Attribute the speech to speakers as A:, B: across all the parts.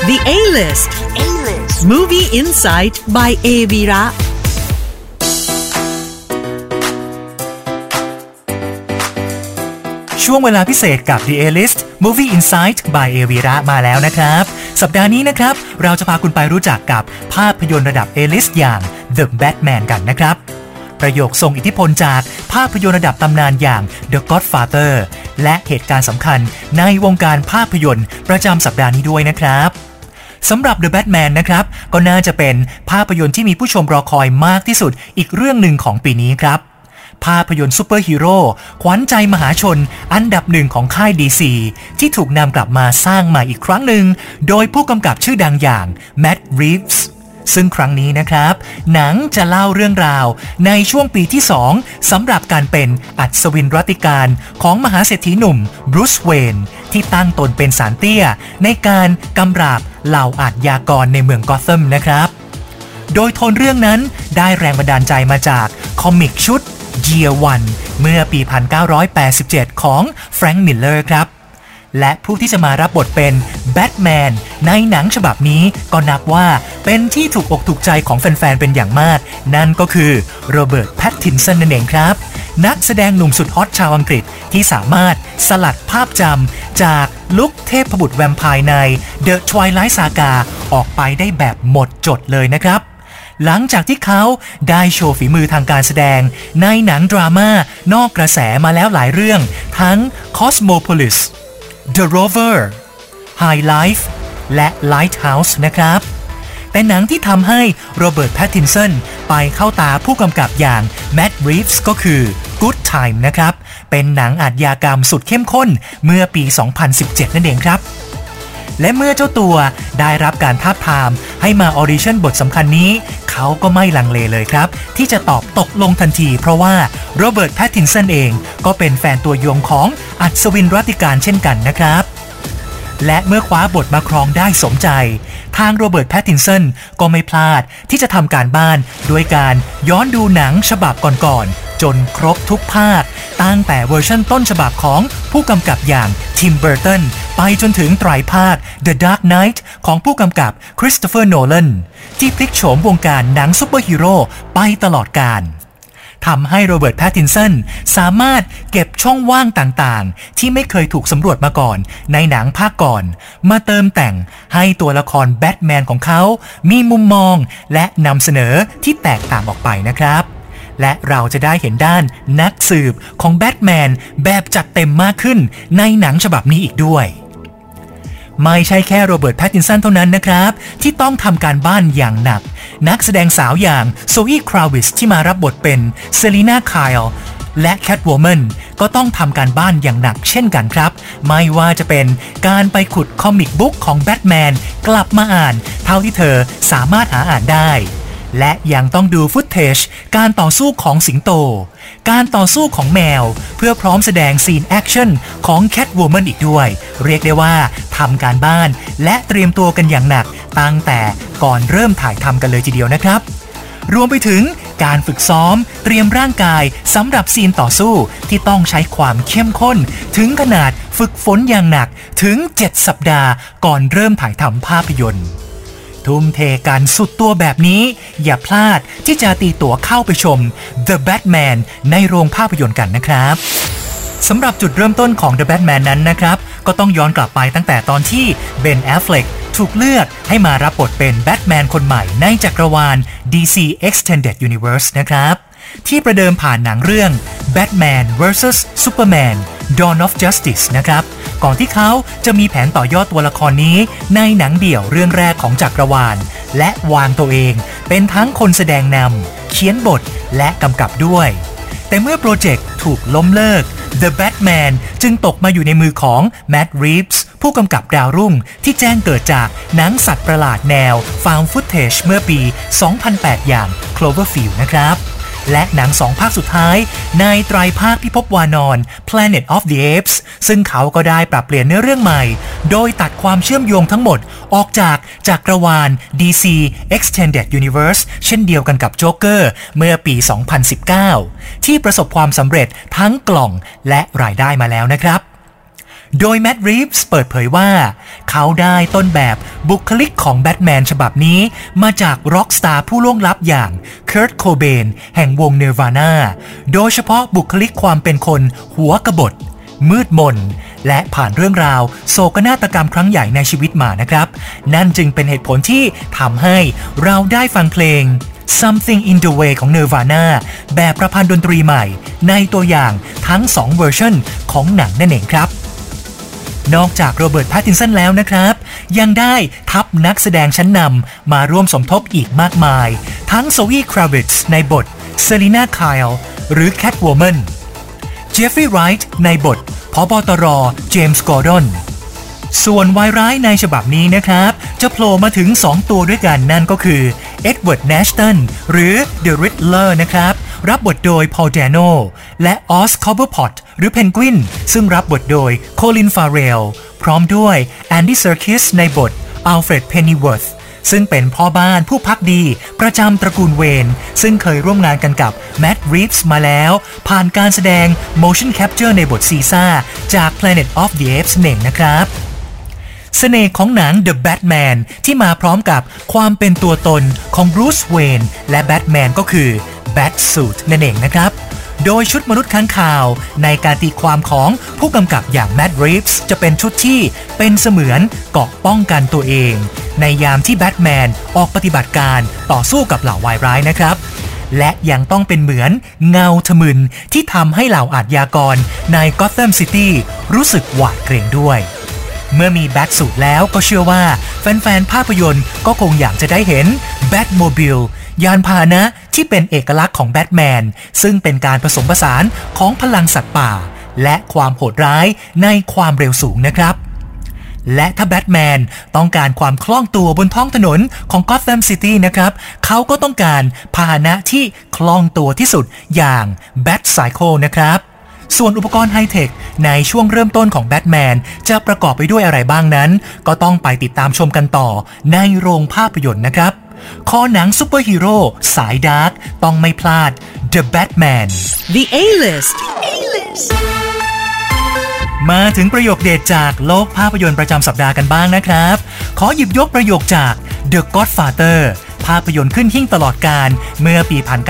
A: The A-List Movie Insight by Evira
B: ช่วงเวลาพิเศษกับ The A-List Movie Insight by Evira มาแล้วนะครับสัปดาห์นี้นะครับเราจะพาคุณไปรู้จักกับภาพยนตร์ระดับ A-List อย่าง The Batman กันนะครับประโยคทรงอิทธิพลจากภาพยนตร์ระดับตำนานอย่าง The Godfather และเหตุการณ์สำคัญในวงการภาพยนตร์ประจำสัปดาห์นี้ด้วยนะครับสำหรับ The Batman นะครับก็น่าจะเป็นภาพยนตร์ที่มีผู้ชมรอคอยมากที่สุดอีกเรื่องหนึ่งของปีนี้ครับภาพยนตร์ซูเปอร์ฮีโร่ขวัญใจมหาชนอันดับหนึ่งของค่าย DC ที่ถูกนำกลับมาสร้างใหม่อีกครั้งหนึ่งโดยผู้กำกับชื่อดังอย่างแมตต์ รีฟส์ซึ่งครั้งนี้นะครับหนังจะเล่าเรื่องราวในช่วงปีที่2สำหรับการเป็นอัศวินรัตติการของมหาเศรษฐีหนุ่มบรูซเวนที่ตั้งตนเป็นศาลเตี้ยในการกำราบเหล่าอาชญากรในเมืองกอธัมนะครับโดยโทนเรื่องนั้นได้แรงบันดาลใจมาจากคอมิกชุด Year One เมื่อปี 1987 ของแฟรงค์ มิลเลอร์ครับและผู้ที่จะมารับบทเป็นแบทแมนในหนังฉบับนี้ก็นับว่าเป็นที่ถูกอกถูกใจของแฟนๆเป็นอย่างมากนั่นก็คือโรเบิร์ต แพตตินสันนั่นเองครับนักแสดงหนุ่มสุดฮอตชาวอังกฤษที่สามารถสลัดภาพจำจากลุคเทพบุตรแวมไพร์ใน The Twilight Saga ออกไปได้แบบหมดจดเลยนะครับหลังจากที่เขาได้โชว์ฝีมือทางการแสดงในหนังดราม่านอกกระแสมาแล้วหลายเรื่องทั้ง Cosmopolis The Rover High Life และ Lighthouse นะครับแต่หนังที่ทำให้โรเบิร์ต แพตตินสันไปเข้าตาผู้กำกับอย่างแมตต์ รีฟส์ก็คือ Good Time นะครับเป็นหนังอาชญากรรมสุดเข้มข้นเมื่อปี 2017 นั่นเองครับและเมื่อเจ้าตัวได้รับการทาบทามให้มาออดิชั่นบทสำคัญนี้เขาก็ไม่ลังเลเลยครับที่จะตอบตกลงทันทีเพราะว่าโรเบิร์ต แพตตินสันเองก็เป็นแฟนตัวยงของอัศวินรัตติการเช่นกันนะครับและเมื่อคว้าบทมาครองได้สมใจทางโรเบิร์ต แพตตินสันก็ไม่พลาดที่จะทำการบ้านด้วยการย้อนดูหนังฉบับก่อนๆจนครบทุกภาคตั้งแต่เวอร์ชันต้นฉบับของผู้กำกับอย่างทิม เบอร์ตันไปจนถึงไตรภาค The Dark Knight ของผู้กำกับคริสโตเฟอร์ โนแลนที่พลิกโฉมวงการหนังซุปเปอร์ฮีโร่ไปตลอดกาลทำให้โรเบิร์ต แพตตินสันสามารถเก็บช่องว่างต่างๆที่ไม่เคยถูกสำรวจมาก่อนในหนังภาคก่อนมาเติมแต่งให้ตัวละครแบทแมนของเขามีมุมมองและนำเสนอที่แตกต่างออกไปนะครับและเราจะได้เห็นด้านนักสืบของแบทแมนแบบจัดเต็มมากขึ้นในหนังฉบับนี้อีกด้วยไม่ใช่แค่โรเบิร์ต แพตตินสันเท่านั้นนะครับที่ต้องทำการบ้านอย่างหนักนักแสดงสาวอย่างโซอี คราวิสที่มารับบทเป็นเซลีนา ไคลและแคทวอร์แมนก็ต้องทำการบ้านอย่างหนักเช่นกันครับไม่ว่าจะเป็นการไปขุดคอมิกบุ๊กของแบทแมนกลับมาอ่านเท่าที่เธอสามารถหาอ่านได้และยังต้องดูฟุตเทจการต่อสู้ของสิงโตการต่อสู้ของแมวเพื่อพร้อมแสดงซีนแอคชั่นของแคทวอร์แมนอีกด้วยเรียกได้ว่าทำการบ้านและเตรียมตัวกันอย่างหนักตั้งแต่ก่อนเริ่มถ่ายทำกันเลยทีเดียวนะครับรวมไปถึงการฝึกซ้อมเตรียมร่างกายสำหรับซีนต่อสู้ที่ต้องใช้ความเข้มข้นถึงขนาดฝึกฝนอย่างหนักถึง7 สัปดาห์ก่อนเริ่มถ่ายทำภาพยนตร์ทุ่มเทกันสุดตัวแบบนี้อย่าพลาดที่จะตีตั๋วเข้าไปชม The Batman ในโรงภาพยนตร์กันนะครับสำหรับจุดเริ่มต้นของ The Batman นั้นนะครับก็ต้องย้อนกลับไปตั้งแต่ตอนที่เบน แอฟเฟล็กถูกเลือกให้มารับบทเป็นแบทแมนคนใหม่ในจักรวาล DC Extended Universe นะครับที่ประเดิมผ่านหนังเรื่อง Batman vs Superman Dawn of Justice นะครับก่อนที่เขาจะมีแผนต่อยอดตัวละครนี้ในหนังเดี่ยวเรื่องแรกของจักรวาลและวางตัวเองเป็นทั้งคนแสดงนำเขียนบทและกำกับด้วยแต่เมื่อโปรเจกต์ถูกล้มเลิก The Batman จึงตกมาอยู่ในมือของแมตต์ รีฟส์ผู้กำกับดาวรุ่งที่แจ้งเกิดจากหนังสัตว์ประหลาดแนว Found Footage เมื่อปี 2008 อย่าง Cloverfield นะครับและหนัง2 ภาคสุดท้ายในไตรภาคพิภพวานอน Planet of the Apes ซึ่งเขาก็ได้ปรับเปลี่ยนเนื้อเรื่องใหม่โดยตัดความเชื่อมโยงทั้งหมดออกจากจักรวาล DC Extended Universe เช่นเดียวกันกับโจ๊กเกอร์เมื่อปี 2019 ที่ประสบความสำเร็จทั้งกล่องและรายได้มาแล้วนะครับโดยแมตต์ รีฟส์เปิดเผยว่าเขาได้ต้นแบบบุคลิกของแบทแมนฉบับนี้มาจากร็อกสตาร์ผู้ล่วงลับอย่างเคิร์ท โคเบนแห่งวง Nirvana โดยเฉพาะบุคลิกความเป็นคนหัวกบฏมืดมนและผ่านเรื่องราวโศกนาฏกรรมครั้งใหญ่ในชีวิตมานะครับนั่นจึงเป็นเหตุผลที่ทำให้เราได้ฟังเพลง Something in the Way ของ Nirvana แบบประพันธ์ดนตรีใหม่ในตัวอย่างทั้ง2เวอร์ชันของหนังนั่นเองครับนอกจากโรเบิร์ต แพตตินสันแล้วนะครับยังได้ทัพนักแสดงชั้นนำมาร่วมสมทบอีกมากมายทั้งโซอี คราวิตซ์ในบทเซลีนา ไคลด์หรือแคทวูแมนเจฟฟรีย์ ไรท์ในบทผบ.ตร.เจมส์ กอร์ดอนส่วนวายร้ายในฉบับนี้นะครับจะโผล่มาถึง2ตัวด้วยกันนั่นก็คือเอ็ดเวิร์ด แนชตันหรือเดอะริดเลอร์นะครับรับบทโดยพอล แดโนและออส คอปเปอร์พอตหรือเพนกวินซึ่งรับบทโดยโคลิน ฟาเรลพร้อมด้วยแอนดี้ เซอร์คิสในบทอัลเฟรด เพนนีเวิร์ธซึ่งเป็นพ่อบ้านผู้พักดีประจำตระกูลเวนซึ่งเคยร่วมงานกันกับแมตต์ รีฟส์มาแล้วผ่านการแสดง motion capture ในบทซีซ่าจาก Planet of the Apes เองนะครับเสน่ห์ของหนัง The Batman ที่มาพร้อมกับความเป็นตัวตนของบรูซ เวนและแบทแมนก็คือ Batsuit นั่นเองนะครับโดยชุดมนุษย์ค้างคาวในการตีความของผู้กำกับอย่างแมตต์ รีฟส์จะเป็นชุดที่เป็นเสมือนเกราะป้องกันตัวเองในยามที่แบทแมนออกปฏิบัติการต่อสู้กับเหล่าวายร้ายนะครับและยังต้องเป็นเหมือนเงาทะมึนที่ทำให้เหล่าอาชญากรในก็อธแธมซิตี้รู้สึกหวาดเกรงด้วยเมื่อมีแบทสูทแล้วก็เชื่อว่าแฟนๆภาพยนตร์ก็คงอยากจะได้เห็นแบทโมบิลยานพาหนะที่เป็นเอกลักษณ์ของแบทแมนซึ่งเป็นการผสมผสานของพลังสัตว์ป่าและความโหดร้ายในความเร็วสูงนะครับและถ้าแบทแมนต้องการความคล่องตัวบนท้องถนนของก็อธแธมซิตี้นะครับเขาก็ต้องการพาหนะที่คล่องตัวที่สุดอย่างแบทไซเคิลนะครับส่วนอุปกรณ์ไฮเทคในช่วงเริ่มต้นของแบทแมนจะประกอบไปด้วยอะไรบ้างนั้นก็ต้องไปติดตามชมกันต่อในโรงภาพยนตร์นะครับคอหนังซุปเปอร์ฮีโร่สายดาร์กต้องไม่พลาด The Batman
A: The A-List
B: มาถึงประโยคเด็ดจากโลกภาพยนตร์ประจำสัปดาห์กันบ้างนะครับขอหยิบยกประโยคจาก The Godfather ภาพยนตร์ขึ้นหิ้งตลอดกาลเมื่อปี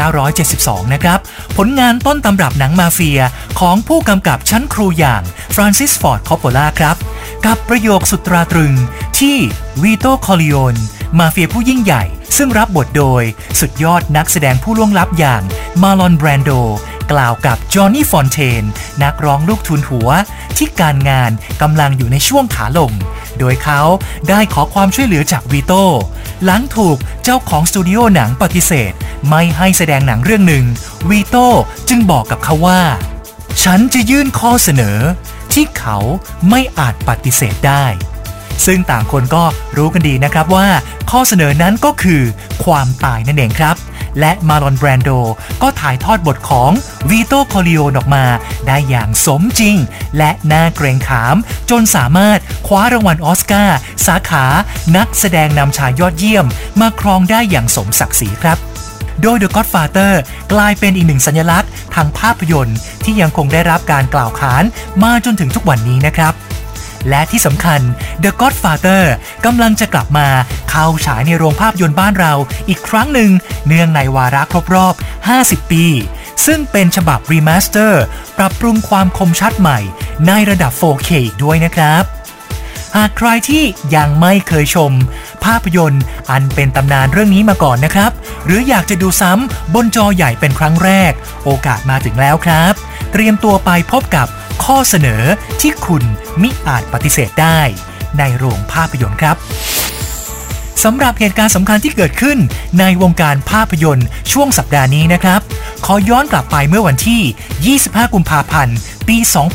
B: 1972 นะครับผลงานต้นตำรับหนังมาเฟียของผู้กำกับชั้นครูอย่างฟรานซิส ฟอร์ด คอปโปล่าครับกับประโยคสุดตราตรึงที่วีโต คอร์ลิโอนมาเฟียผู้ยิ่งใหญ่ซึ่งรับบทโดยสุดยอดนักแสดงผู้ล่วงลับอย่างมาลอน แบรนโดกล่าวกับจอห์นนี่ ฟอนเทนนักร้องลูกทุนหัวที่การงานกำลังอยู่ในช่วงขาลงโดยเขาได้ขอความช่วยเหลือจากวีโต้หลังถูกเจ้าของสตูดิโอหนังปฏิเสธไม่ให้แสดงหนังเรื่องหนึ่งวีโต้จึงบอกกับเขาว่าฉันจะยื่นข้อเสนอที่เขาไม่อาจปฏิเสธได้ซึ่งต่างคนก็รู้กันดีนะครับว่าข้อเสนอนั้นก็คือความตายนั่นเองครับและมาลอน แบรนโดก็ถ่ายทอดบทของวีโต คอร์ลิโอนออกมาได้อย่างสมจริงและน่าเกรงขามจนสามารถคว้ารางวัลออสการ์สาขานักแสดงนำชายยอดเยี่ยมมาครองได้อย่างสมศักดิ์ศรีครับโดย The Godfather กลายเป็นอีกหนึ่งสัญลักษณ์ทางภาพยนตร์ที่ยังคงได้รับการกล่าวขานมาจนถึงทุกวันนี้นะครับและที่สำคัญ The Godfather กำลังจะกลับมาเข้าฉายในโรงภาพยนตร์บ้านเราอีกครั้งหนึ่งเนื่องในวาระครบรอบ 50 ปีซึ่งเป็นฉบับรีมาสเตอร์ปรับปรุงความคมชัดใหม่ในระดับ 4K อีกด้วยนะครับหากใครที่ยังไม่เคยชมภาพยนตร์อันเป็นตำนานเรื่องนี้มาก่อนนะครับหรืออยากจะดูซ้ำบนจอใหญ่เป็นครั้งแรกโอกาสมาถึงแล้วครับเตรียมตัวไปพบกับข้อเสนอที่คุณมิอาจปฏิเสธได้ในโรงภาพยนตร์ครับสำหรับเหตุการณ์สำคัญที่เกิดขึ้นในวงการภาพยนตร์ช่วงสัปดาห์นี้นะครับขอย้อนกลับไปเมื่อวันที่ 25 กุมภาพันธ์ ปี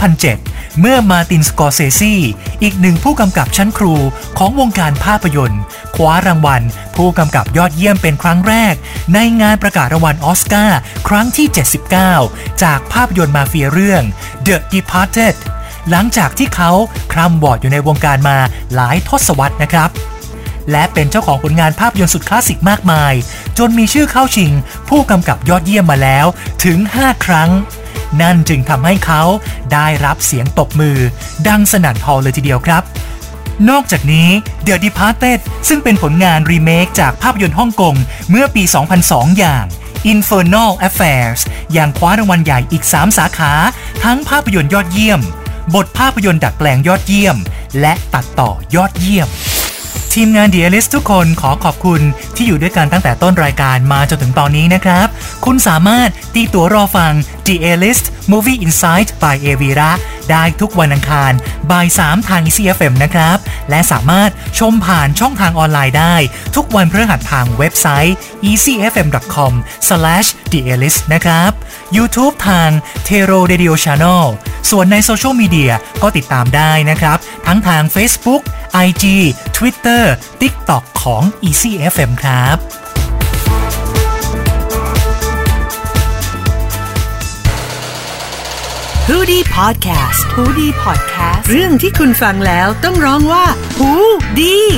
B: 2007 เมื่อมาร์ติน สกอร์เซซีอีกหนึ่งผู้กำกับชั้นครูของวงการภาพยนตร์คว้ารางวัลผู้กำกับยอดเยี่ยมเป็นครั้งแรกในงานประกาศรางวัลออสการ์ครั้งที่ 79 จากภาพยนตร์มาเฟียเรื่อง The Departed หลังจากที่เขาคร่ำวอดอยู่ในวงการมาหลายทศวรรษนะครับและเป็นเจ้าของผลงานภาพยนตร์สุดคลาสสิกมากมายจนมีชื่อเข้าชิงผู้กำกับยอดเยี่ยมมาแล้วถึง 5 ครั้งนั่นจึงทำให้เขาได้รับเสียงตบมือดังสนั่นฮอลล์เลยทีเดียวครับนอกจากนี้ The Departed ซึ่งเป็นผลงานรีเมคจากภาพยนตร์ฮ่องกงเมื่อปี 2002 อย่าง Infernal Affairs ยังคว้ารางวัลใหญ่อีก 3 สาขาทั้งภาพยนตร์ยอดเยี่ยมบทภาพยนตร์ดัดแปลงยอดเยี่ยมและตัดต่อยอดเยี่ยมทีมงาน The A-List ทุกคนขอขอบคุณที่อยู่ด้วยกันตั้งแต่ต้นรายการมาจนถึงตอนนี้นะครับคุณสามารถตีตั๋วรอฟัง The A-List Movie Insight by Avira ได้ทุกวันอังคารบ่าย 3 ทาง Easy FM นะครับและสามารถชมผ่านช่องทางออนไลน์ได้ทุกวันพฤหัสทางเว็บไซต์ easyfm.com/thealist นะครับ YouTube ทาง Tero Radio Channel ส่วนในโซเชียลมีเดียก็ติดตามได้นะครับทั้งทาง Facebook IG Twitter TikTok ของ Easy FM ครับ
A: ฮูดี้พอดแคสต์ฮูดี้พอดแคสต์เรื่องที่คุณฟังแล้วต้องร้องว่าฮูดี